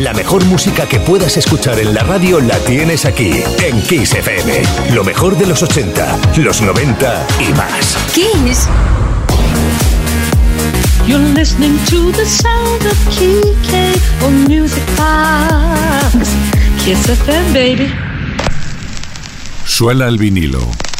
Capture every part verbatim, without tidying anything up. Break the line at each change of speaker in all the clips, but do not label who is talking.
La mejor música que puedas escuchar en la radio la tienes aquí, en Kiss F M. Lo mejor de los ochenta, los noventa y más.
Kiss.
You're listening to the sound of K K on Music Box. Kiss F M, baby.
Suena el vinilo.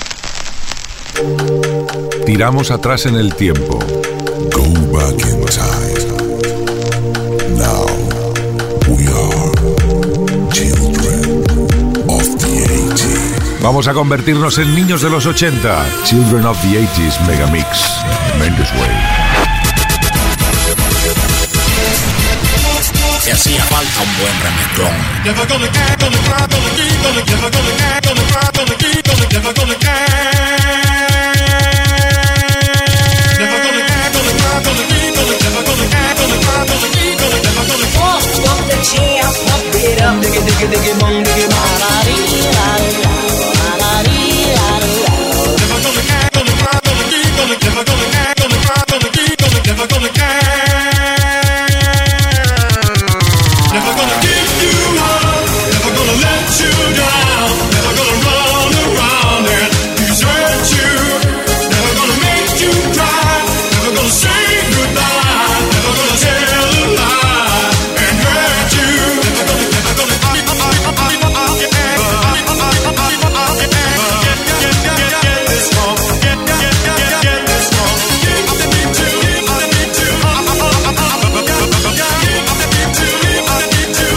Tiramos atrás en el tiempo.
Go back in time. Now we are children of the eighties.
Vamos a convertirnos en niños de los ochenta. Children of the eighties Megamix. Mendes Way.
Se hacía falta un buen remezclón.
Never gonna get, gonna cry, gonna keep, gonna never gonna get, gonna cry, gonna keep, gonna never gonna get. Never gonna get, gonna cry, gonna keep, gonna never gonna get, gonna cry, gonna keep, gonna never gonna get.
Pump, pump the jam, pump it up, digga, digga, digga, bum, digga, ma, la, dee, la, la, la, dee, la, la.
Never gonna get, gonna cry, gonna keep, gonna never gonna get, gonna cry, gonna keep, gonna never gonna get. Never gonna give you up, never gonna let you down, never gonna run around and desert you, never gonna make you cry, never gonna say goodbye, never gonna tell a lie and hurt you, never gonna, never gonna, get this wrong, get, get, get, get this wrong, get up the beat too, get up the beat too, get up the beat too, get up the beat too.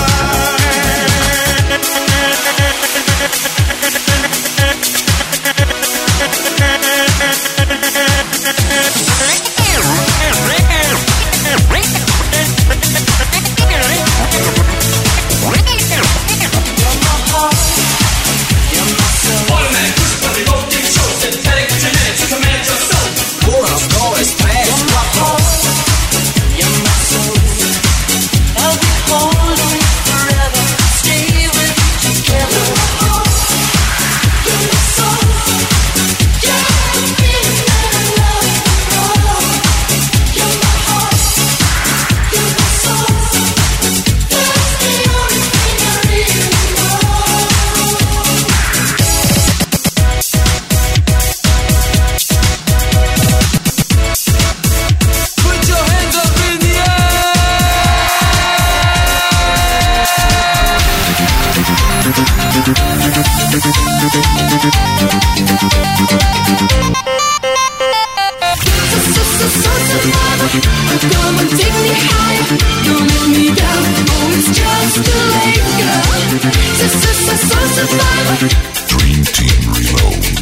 Dream Team Reload.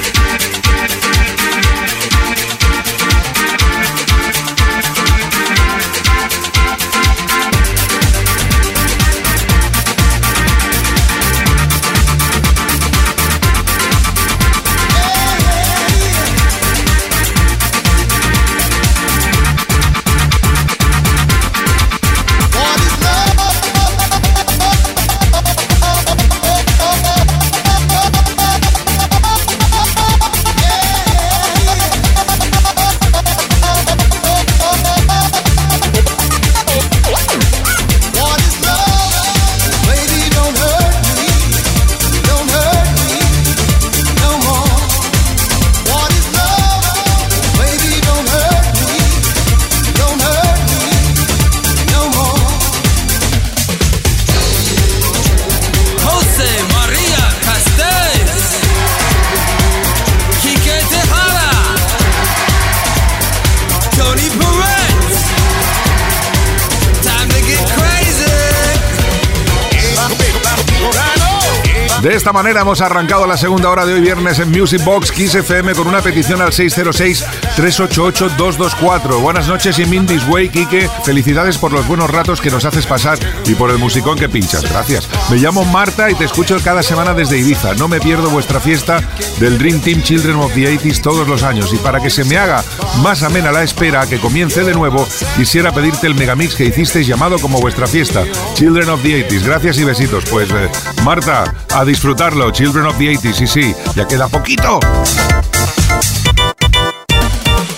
De esta manera hemos arrancado la segunda hora de hoy viernes en Music Box Kiss F M con una petición al seis cero seis, tres ocho ocho, dos dos cuatro. Buenas noches y Mindy's Way, Quique. Felicidades por los buenos ratos que nos haces pasar y por el musicón que pinchas. Gracias. Me llamo Marta y te escucho cada semana desde Ibiza. No me pierdo vuestra fiesta del Dream Team Children of the eighties todos los años. Y para que se me haga más amena la espera a que comience de nuevo, quisiera pedirte el megamix que hicisteis llamado como vuestra fiesta, Children of the eighties. Gracias y besitos. Pues eh, Marta, a disfrutarlo, Children of the eighties, y sí, ya queda poquito.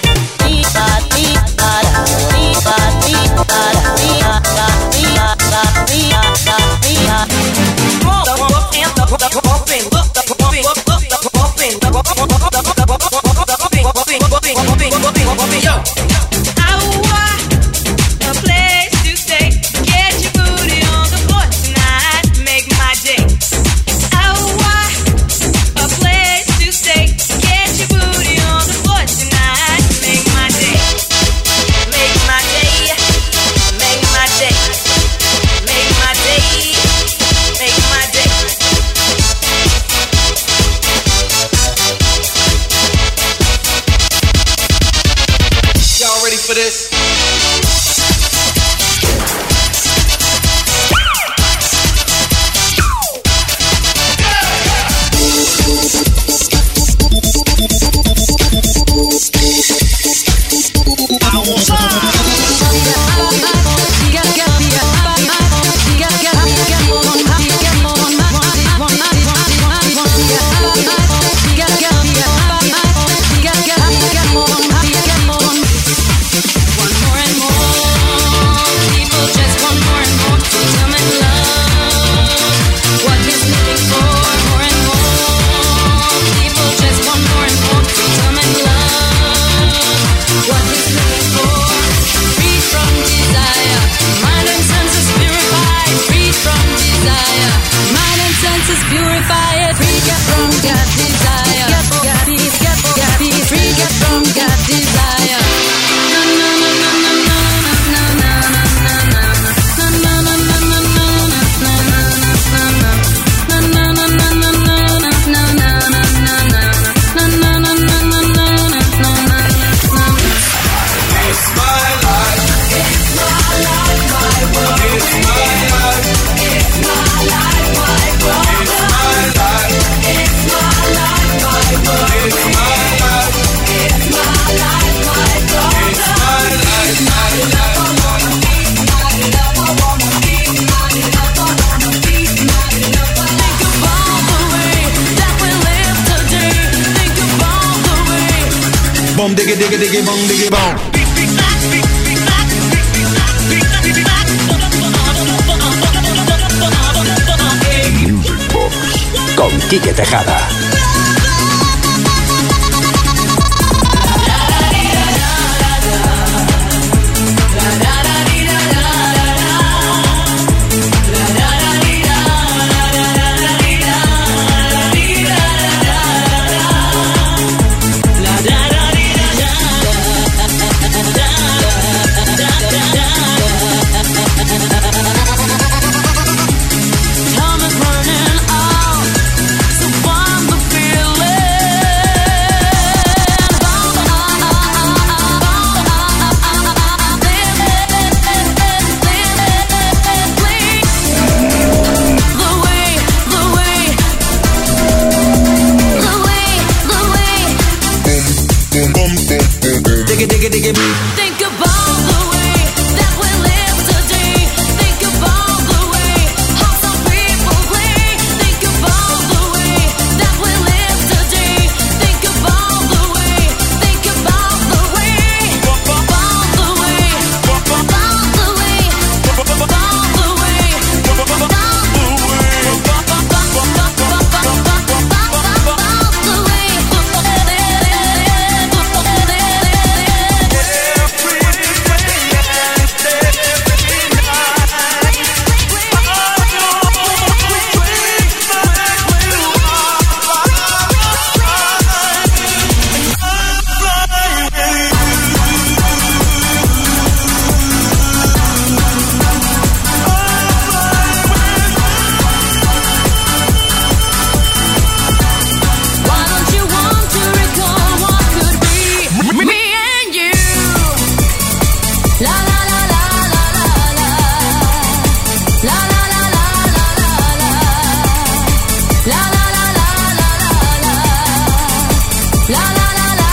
Para, para, para, para, para, para, para, para, para, diggy, diggy, bong, diggy, bong.
Music Box con Quique Tejada.
Think about the way that we live today. Think about the way how some people play. Think about the way that we live today. Think about the way. Think about the way. About the way. About the way. About the way. About the way. Why don't you want to recall what could be me and you? La la la la la la la. La la la la la la la. La la la la la la la. La la la la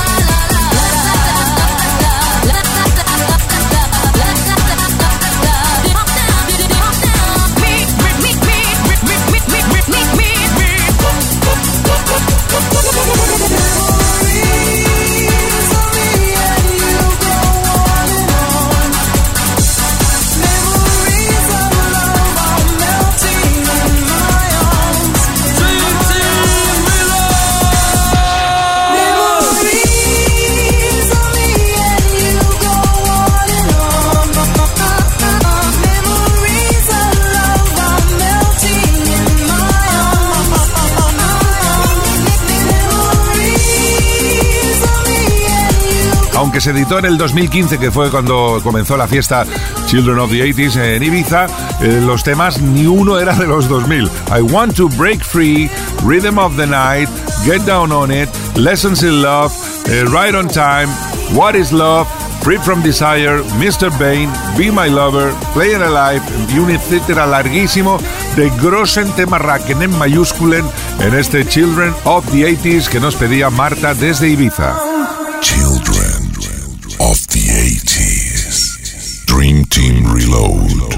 Aunque se editó en el dos mil quince, que fue cuando comenzó la fiesta Children of the ochenta en Ibiza, eh, los temas ni uno era de los dos mil. I Want to Break Free, Rhythm of the Night, Get Down on It, Lessons in Love, eh, Right on Time, What is Love, Free from Desire, mister Bane, Be My Lover, Playing Alive y un etcétera larguísimo de grossen Temarraken en mayúsculen en este Children of the ochenta que nos pedía Marta desde Ibiza.
Children of the eighties. Dream Team Reload.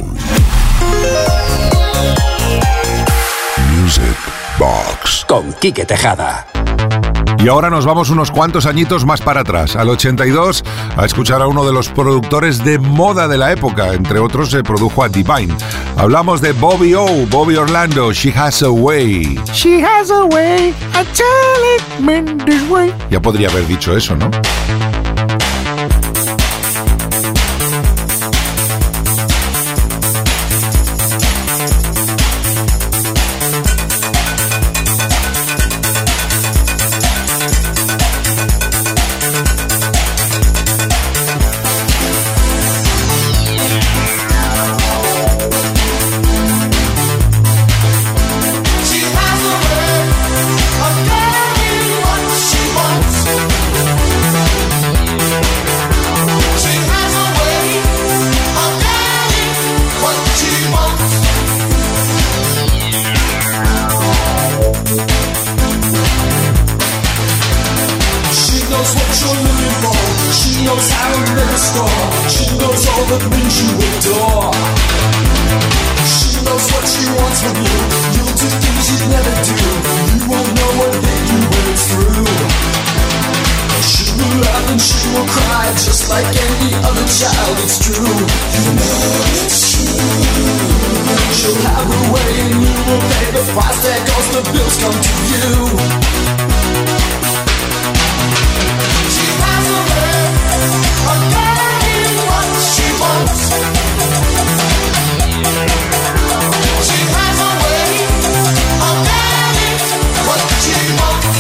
Music Box
con Quique Tejada.
Y ahora nos vamos unos cuantos añitos más para atrás, al ochenta y dos, a escuchar a uno de los productores de moda de la época. Entre otros, se produjo a Divine. Hablamos de Bobby O, Bobby Orlando, She Has a Way. She has a way, I tell it in this way. Ya podría haber dicho eso, ¿no?
She will laugh and she will cry just like any other child. It's true, you know it's true. She'll have her way and you will pay the price. There goes the bills come to you. She has a way of getting what she wants. She has a way of getting what she wants.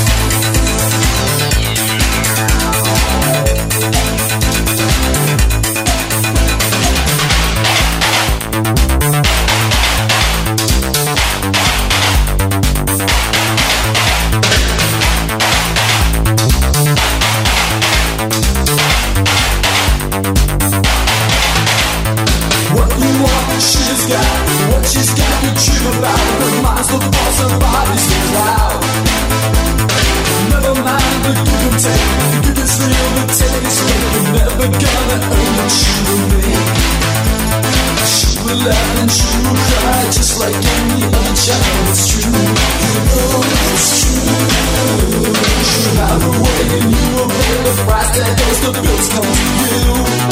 She's got what she's got to dream about. Her mind's the boss, her body's the cloud. Never mind the give and take. The give is real, the take is real. You're never gonna earn what she will make. She will laugh and she will cry just like any other child. It's true, you know it's true. She'll have her way and you will pay the price. There goes the bills come to you.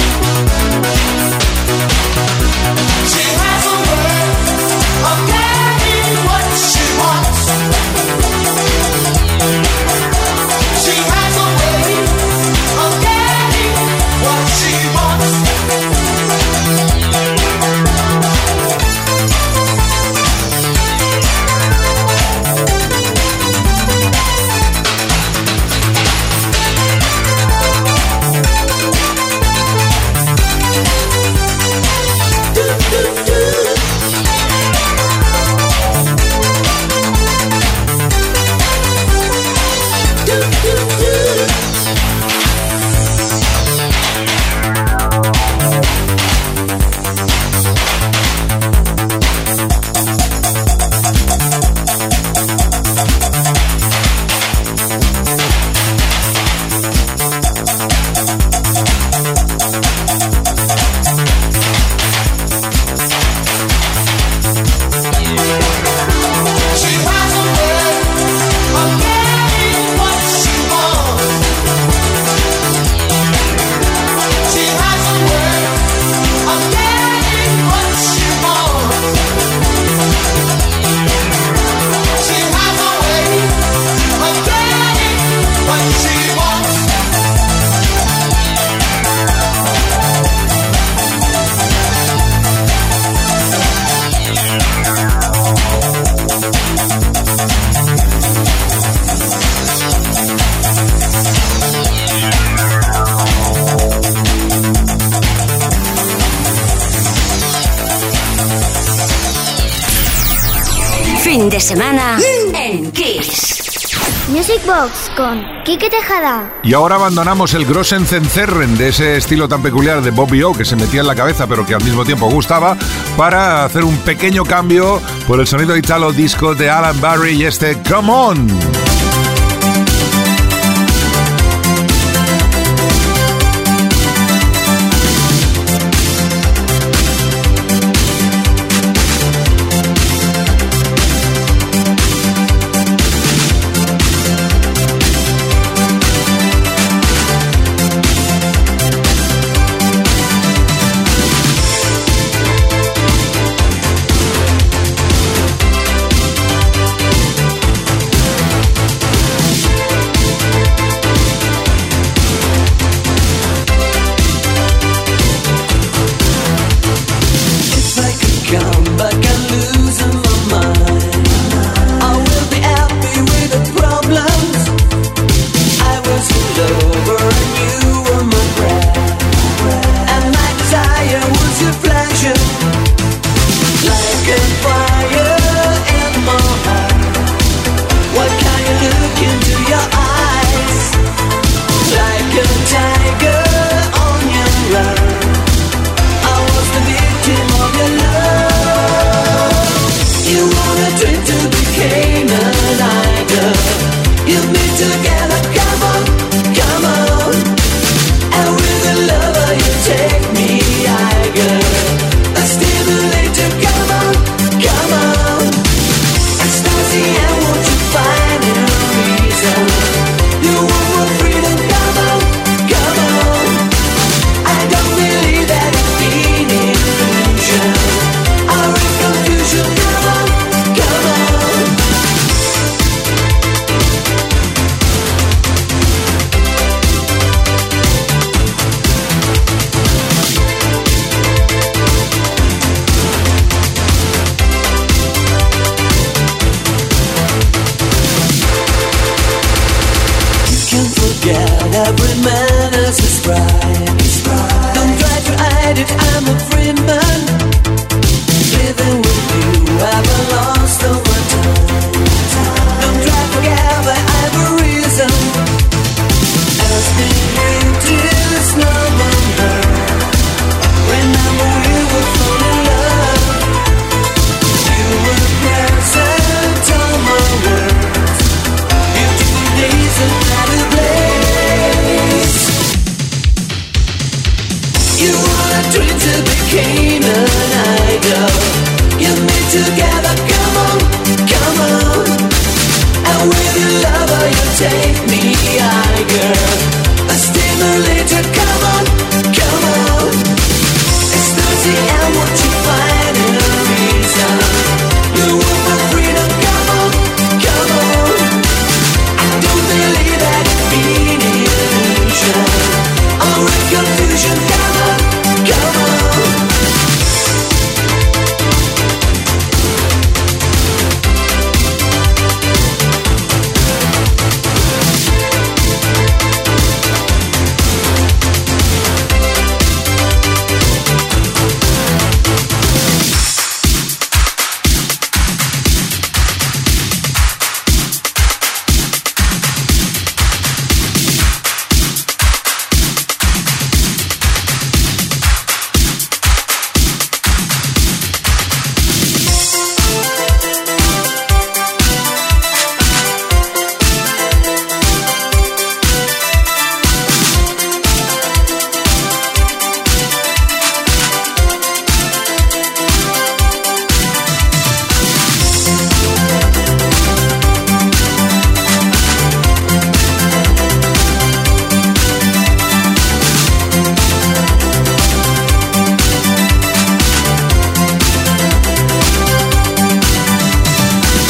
She has a way of getting what she wants. She has a way of getting what she wants.
Fin de semana en Kiss.
Music Box con Quique Tejada.
Y ahora abandonamos el Grossen Zencerren de ese estilo tan peculiar de Bobby O que se metía en la cabeza pero que al mismo tiempo gustaba, para hacer un pequeño cambio por el sonido italo disco de Alan Barry y este Come On.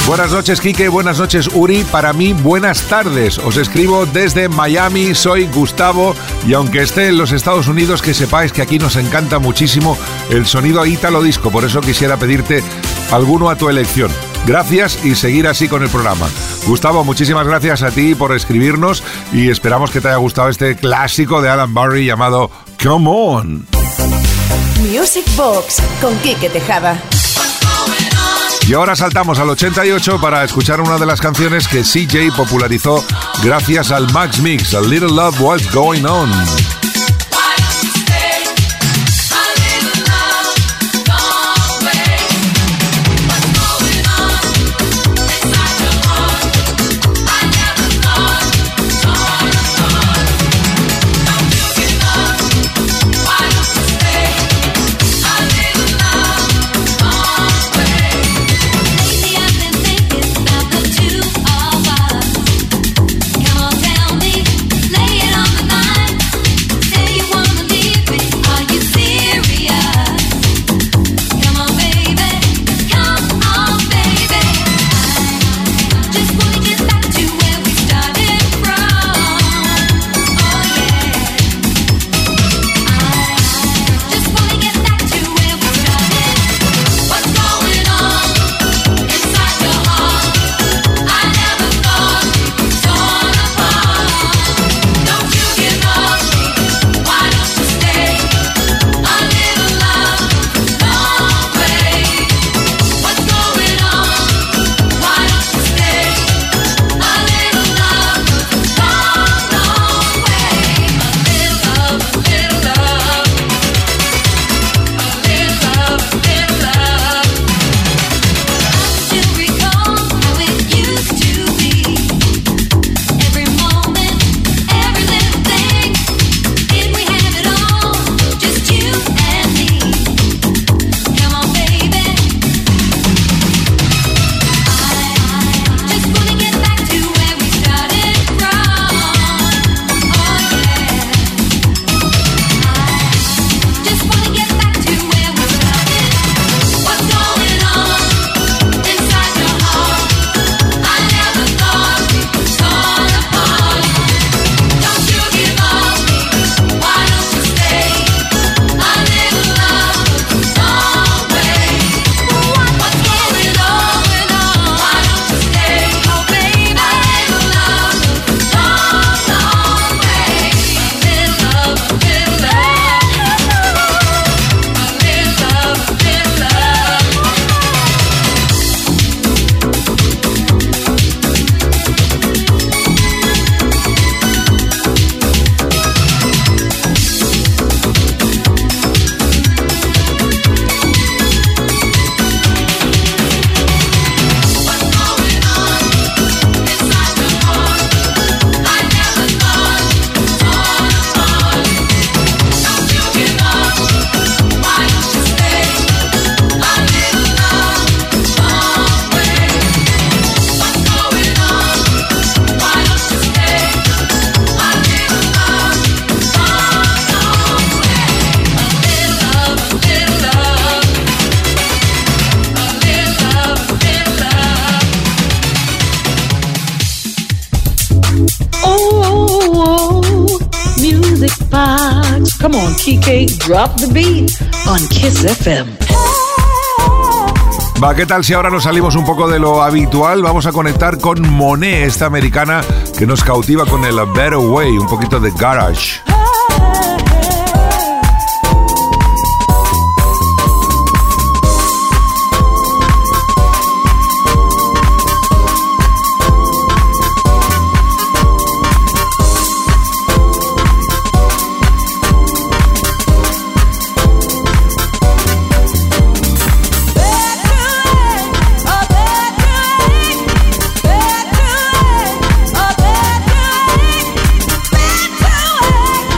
Buenas noches, Quique. Buenas noches, Uri. Para mí, buenas tardes. Os escribo desde Miami. Soy Gustavo. Y aunque esté en los Estados Unidos, que sepáis que aquí nos encanta muchísimo el sonido ítalo disco. Por eso quisiera pedirte alguno a tu elección. Gracias y seguir así con el programa. Gustavo, muchísimas gracias a ti por escribirnos y esperamos que te haya gustado este clásico de Alan Barry llamado Come On.
Music Box con Quique Tejada.
Y ahora saltamos al ochenta y ocho para escuchar una de las canciones que C J popularizó gracias al Max Mix, A Little Love What's Going On.
Come on, Kike, drop the beat on Kiss F M.
Va, ¿qué tal si ahora nos salimos un poco de lo habitual? Vamos a conectar con Monet, esta americana que nos cautiva con el A Better Way, un poquito de garage.
Better way,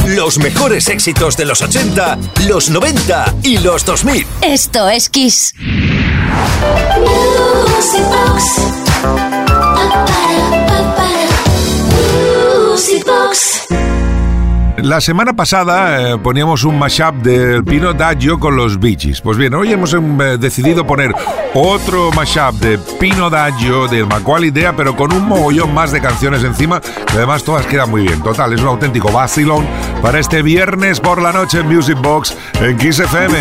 Los mejores éxitos de los ochenta, los noventa y los dos mil.
Esto es Kiss.
Music Box. Music Box.
La semana pasada eh, poníamos un mashup del Pino Daggio con los Bee Gees. Pues bien, hoy hemos eh, decidido poner otro mashup de Pino Daggio, del Macaulay Dea, pero con un mogollón más de canciones encima, que además todas quedan muy bien. Total, es un auténtico vacilón para este viernes por la noche en Music Box en Kiss F M.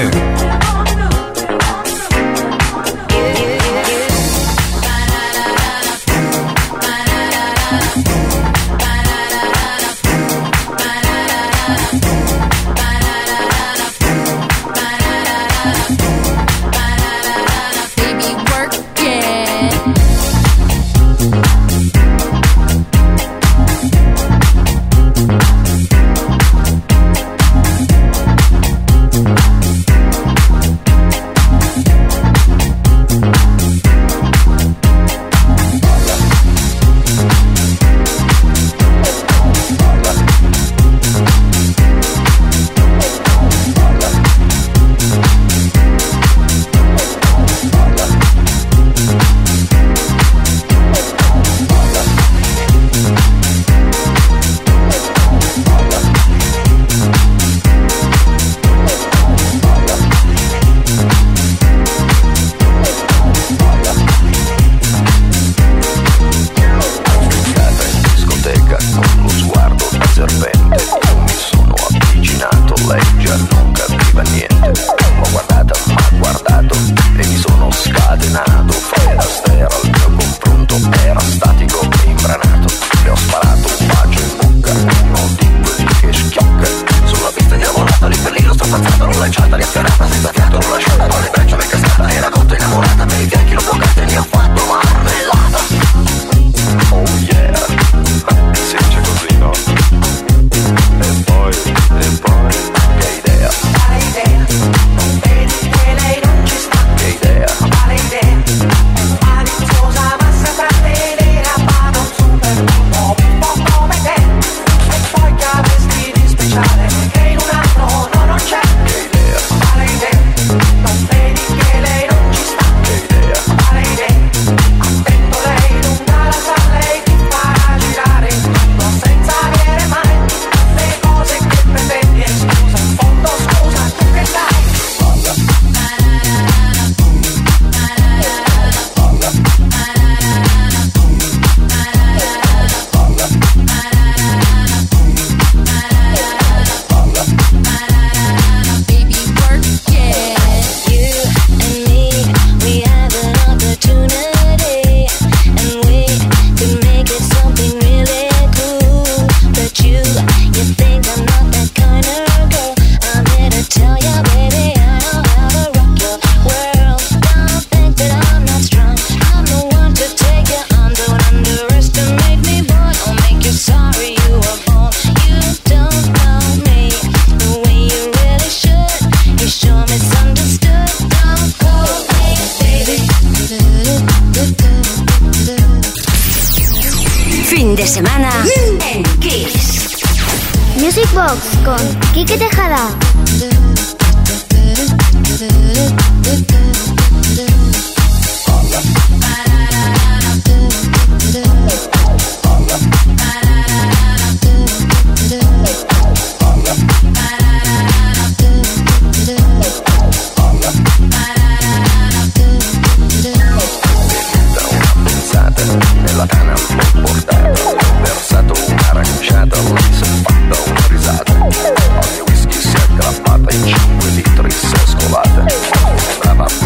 De semana en Kiss.
Music Box con Kike Tejada.
Nella tana l'ho portato, ho versato un'aranciata, l'ho fatta una risata. Al mio whisky si è aggrappata in cinque litri, si è scolata. Sembrava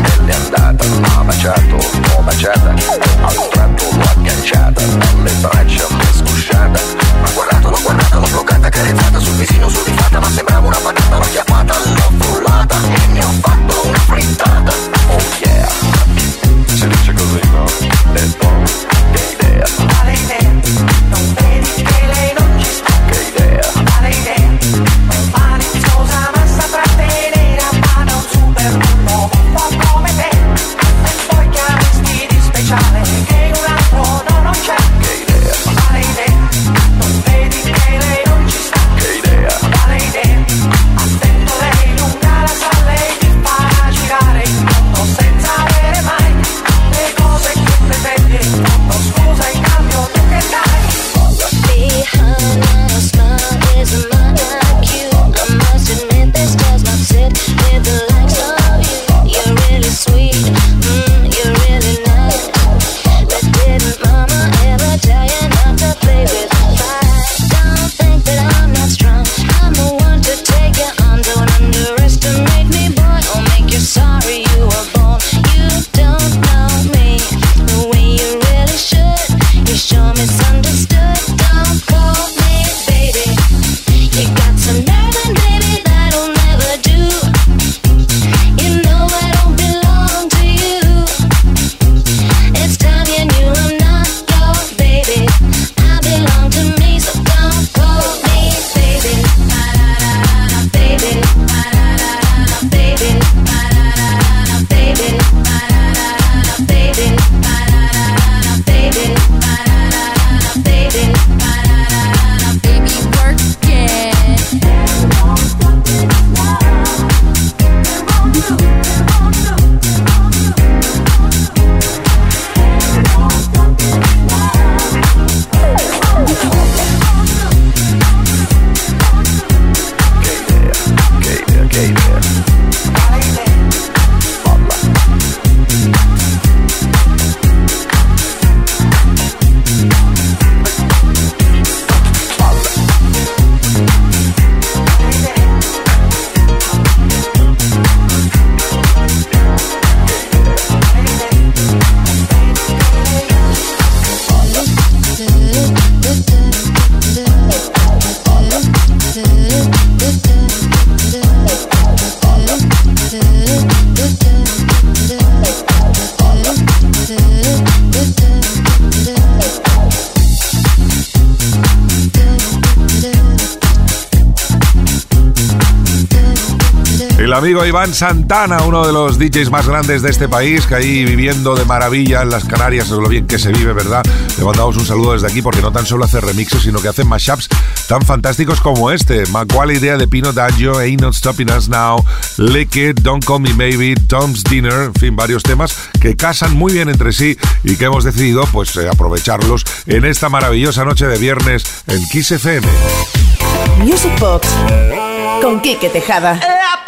El amigo Iván Santana, uno de los D Js más grandes de este país, que ahí viviendo de maravilla en las Canarias, lo bien que se vive, ¿verdad? Le mandamos un saludo desde aquí porque no tan solo hace remixes, sino que hace mashups tan fantásticos como este. Macual idea de Pino Daggio, Ain't Not Stopping Us Now, Lick It, Don't Call Me Maybe, Tom's Dinner, en fin, varios temas que casan muy bien entre sí y que hemos decidido pues eh, aprovecharlos en esta maravillosa noche de viernes en Kiss F M.
Music Box con Quique Tejada.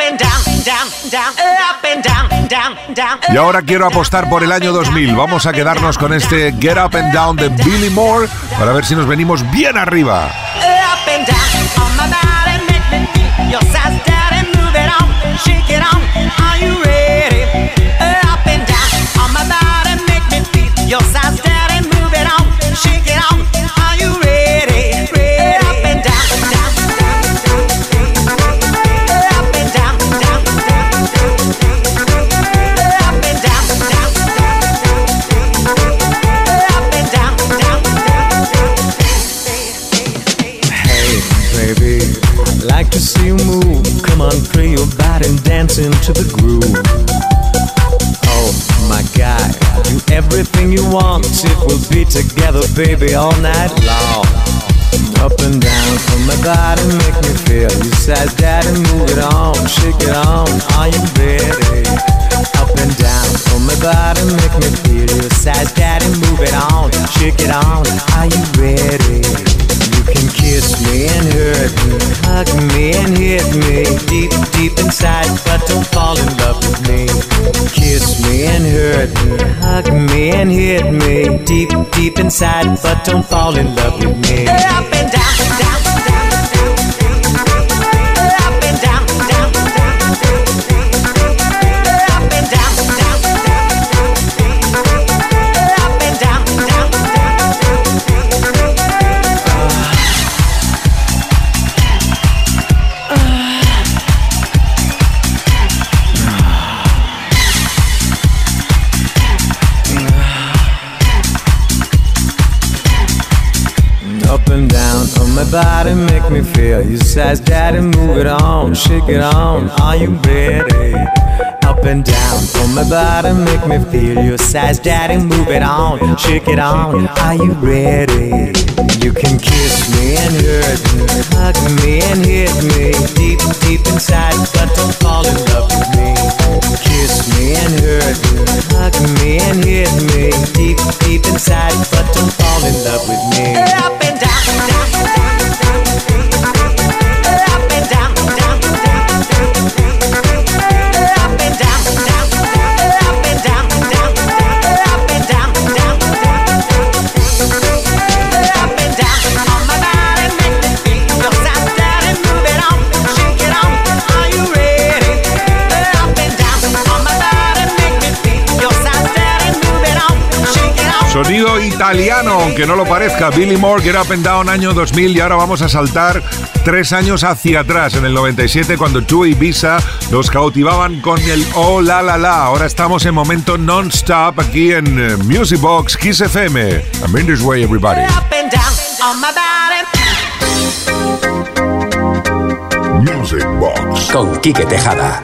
Y ahora quiero apostar por el año dos mil. Vamos a quedarnos con este Get Up and Down de Billy Moore para ver si nos venimos bien arriba.
To see you move, come on, free your body and dance into the groove. Oh my God, do everything you want. It will be together, baby, all night long. Up and down from my body, make me feel. You said that and move it on, shake it on. Are you ready? Up and down from my body, make me feel. You said that and move it on, shake it on. Are you ready? You can kiss me and hurt me, hug me and hit me deep, deep inside, but don't fall in love with me. Kiss me and hurt me, hug me and hit me deep, deep inside, but don't fall in love with me. Up and down, down, down, down, up and down, down, down, up and down, down, up and down, down, up and down on my body, make me feel. You size daddy, move it on, shake it on. Are you ready? Up and down on my body, make me feel. You size daddy, move it on, shake it on. Are you ready? You can kiss me and hurt me, hug me and hit me deep, deep inside, but don't fall in love with me. Kiss me and hurt me, hug me and hit me deep, deep inside, but don't fall in love with me. Up and down, down, down, down, up and down, down, down, up and down, down, up and down, down, up and down, down, up and down on my body, make me feel your side, daddy, move it on, shake it on. Are you ready? Up and down on my body, make me feel your side, daddy, move it on, shake it on.
Sonido italiano, aunque no lo parezca. Billy Moore, Get Up and Down, año dos mil. Y ahora vamos a saltar tres años hacia atrás, en el noventa y siete, cuando Two Ibiza nos cautivaban con el Oh La La La. Ahora estamos en momento non-stop aquí en uh, Music Box Kiss F M. I'm in this way, everybody.
Up and down on my body.
Music Box
con Quique Tejada.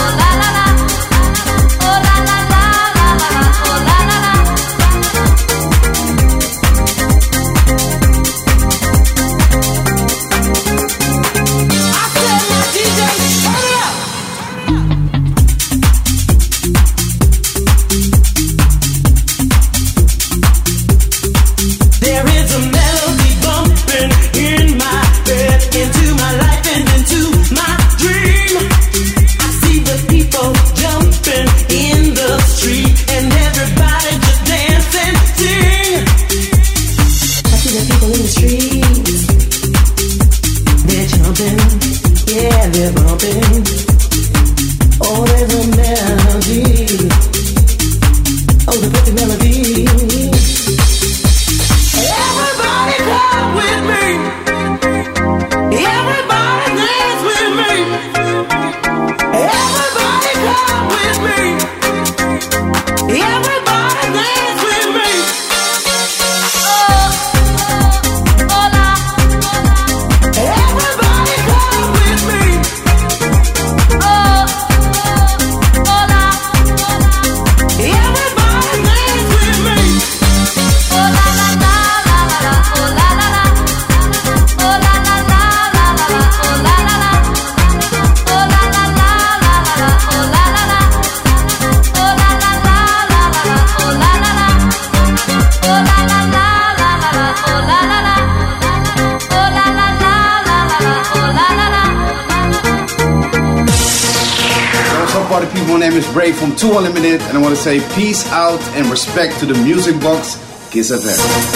Ray from Two Unlimited, and I want to say peace out and respect to the Music Box Kiss F M.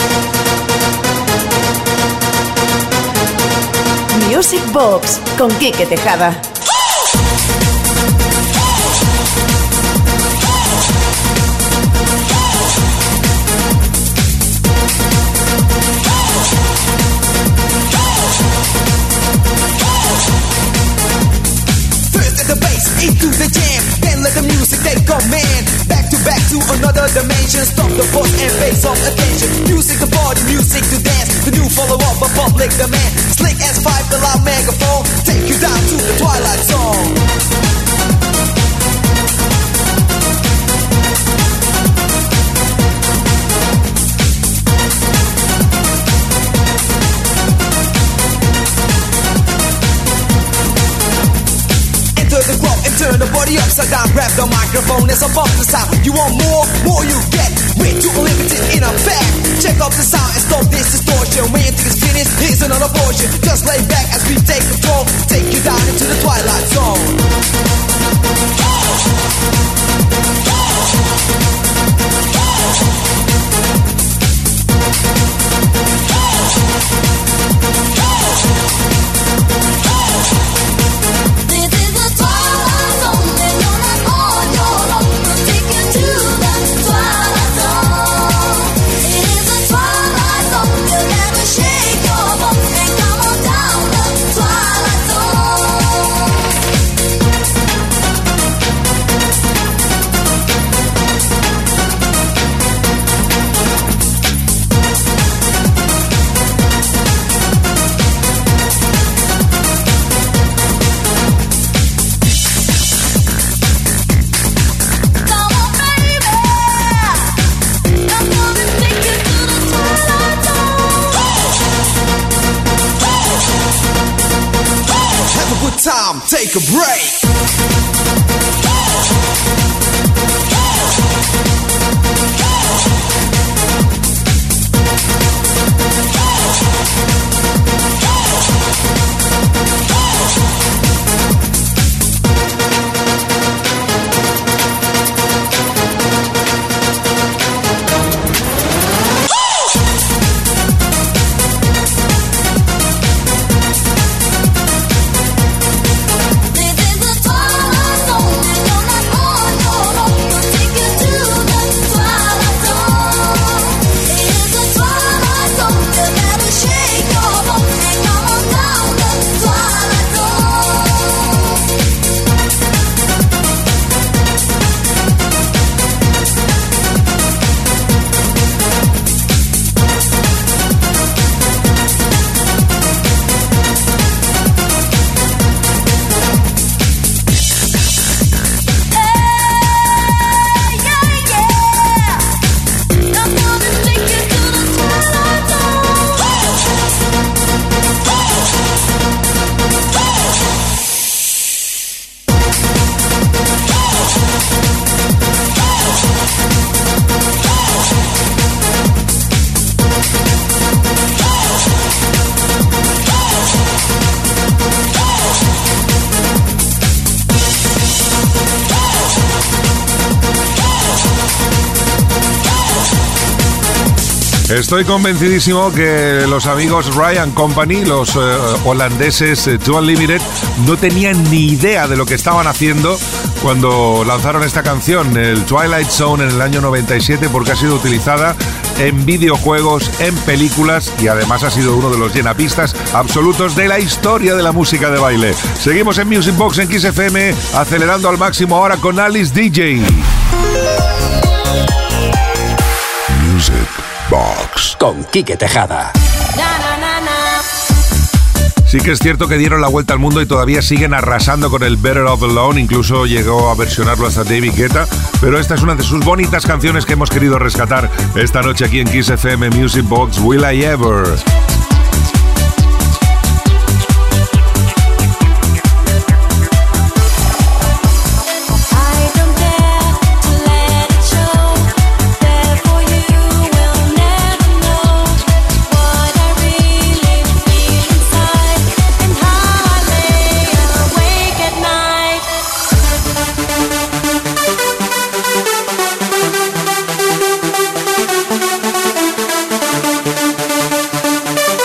Music Box con Quique Tejada.
First at the bass, into the jam, then let the music take command. Back to back to another dimension. Stop the force and pay some attention. Music to party, music to dance. The new follow-up of public demand. Slick S five, the loud megaphone. Take you down to the Twilight Zone. The club and turn the body upside down. Grab the microphone as I bump the sound. You want more? More you get. Way too limited in effect. Check out the sound and stop this distortion. When you think it's finished, here's another portion. Just lay back as we take control. Take you down into the Twilight Zone.
Shake your bum and come on down the Twilight Zone.
take a break.
Estoy convencidísimo que los amigos Ryan Company, los eh, holandeses eh, Two Unlimited, no tenían ni idea de lo que estaban haciendo cuando lanzaron esta canción, el Twilight Zone, en el año noventa y siete, porque ha sido utilizada en videojuegos, en películas y además ha sido uno de los llenapistas absolutos de la historia de la música de baile. Seguimos en Music Box en Kiss F M, acelerando al máximo ahora con Alice D J.
Music Box
con Quique Tejada.
Sí que es cierto que dieron la vuelta al mundo y todavía siguen arrasando con el Better Off Alone, incluso llegó a versionarlo hasta David Guetta, pero esta es una de sus bonitas canciones que hemos querido rescatar esta noche aquí en Kiss F M Music Box, Will I Ever.
Thank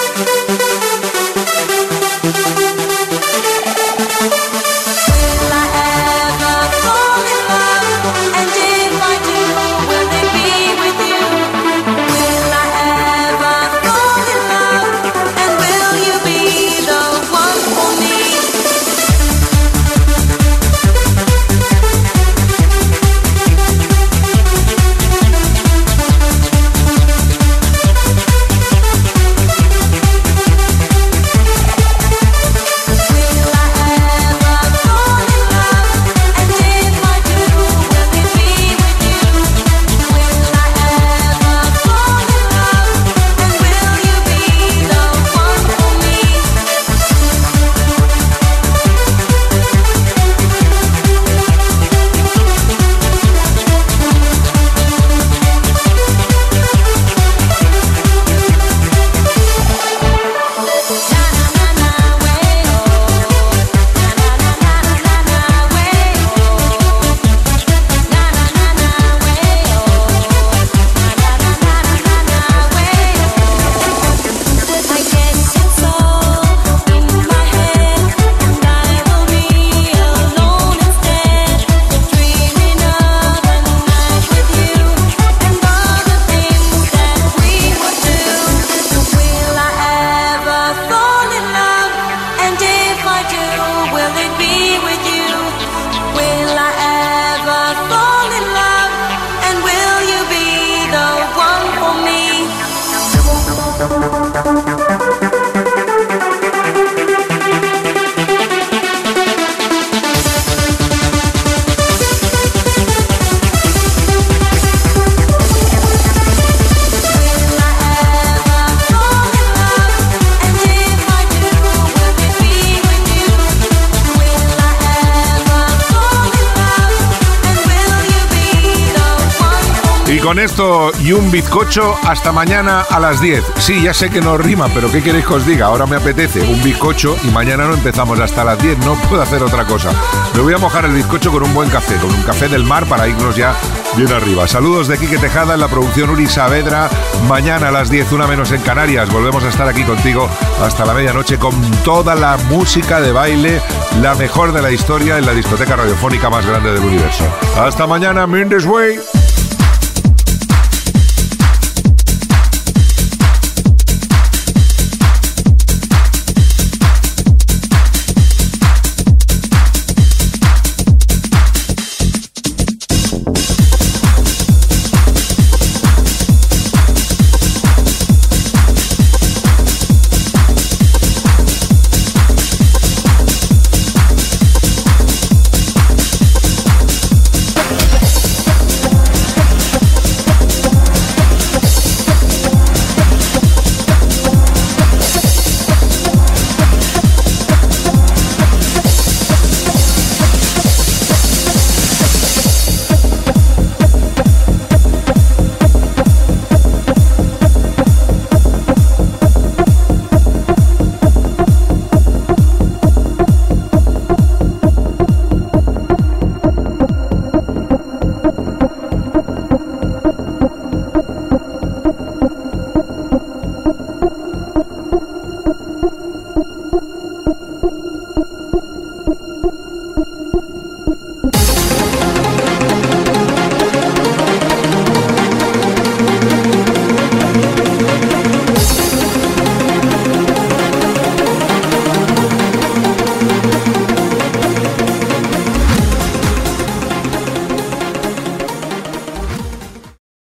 Y con esto y un bizcocho hasta mañana a las diez. Sí, ya sé que no rima, pero ¿qué queréis que os diga? Ahora me apetece un bizcocho y mañana no empezamos hasta las diez. No puedo hacer otra cosa. Me voy a mojar el bizcocho con un buen café, con un café del mar para irnos ya bien arriba. Saludos de Quique Tejada, en la producción Uri Saavedra. Mañana a las diez, una menos en Canarias. Volvemos a estar aquí contigo hasta la medianoche con toda la música de baile, la mejor de la historia en la discoteca radiofónica más grande del universo. Hasta mañana, Mindes Way.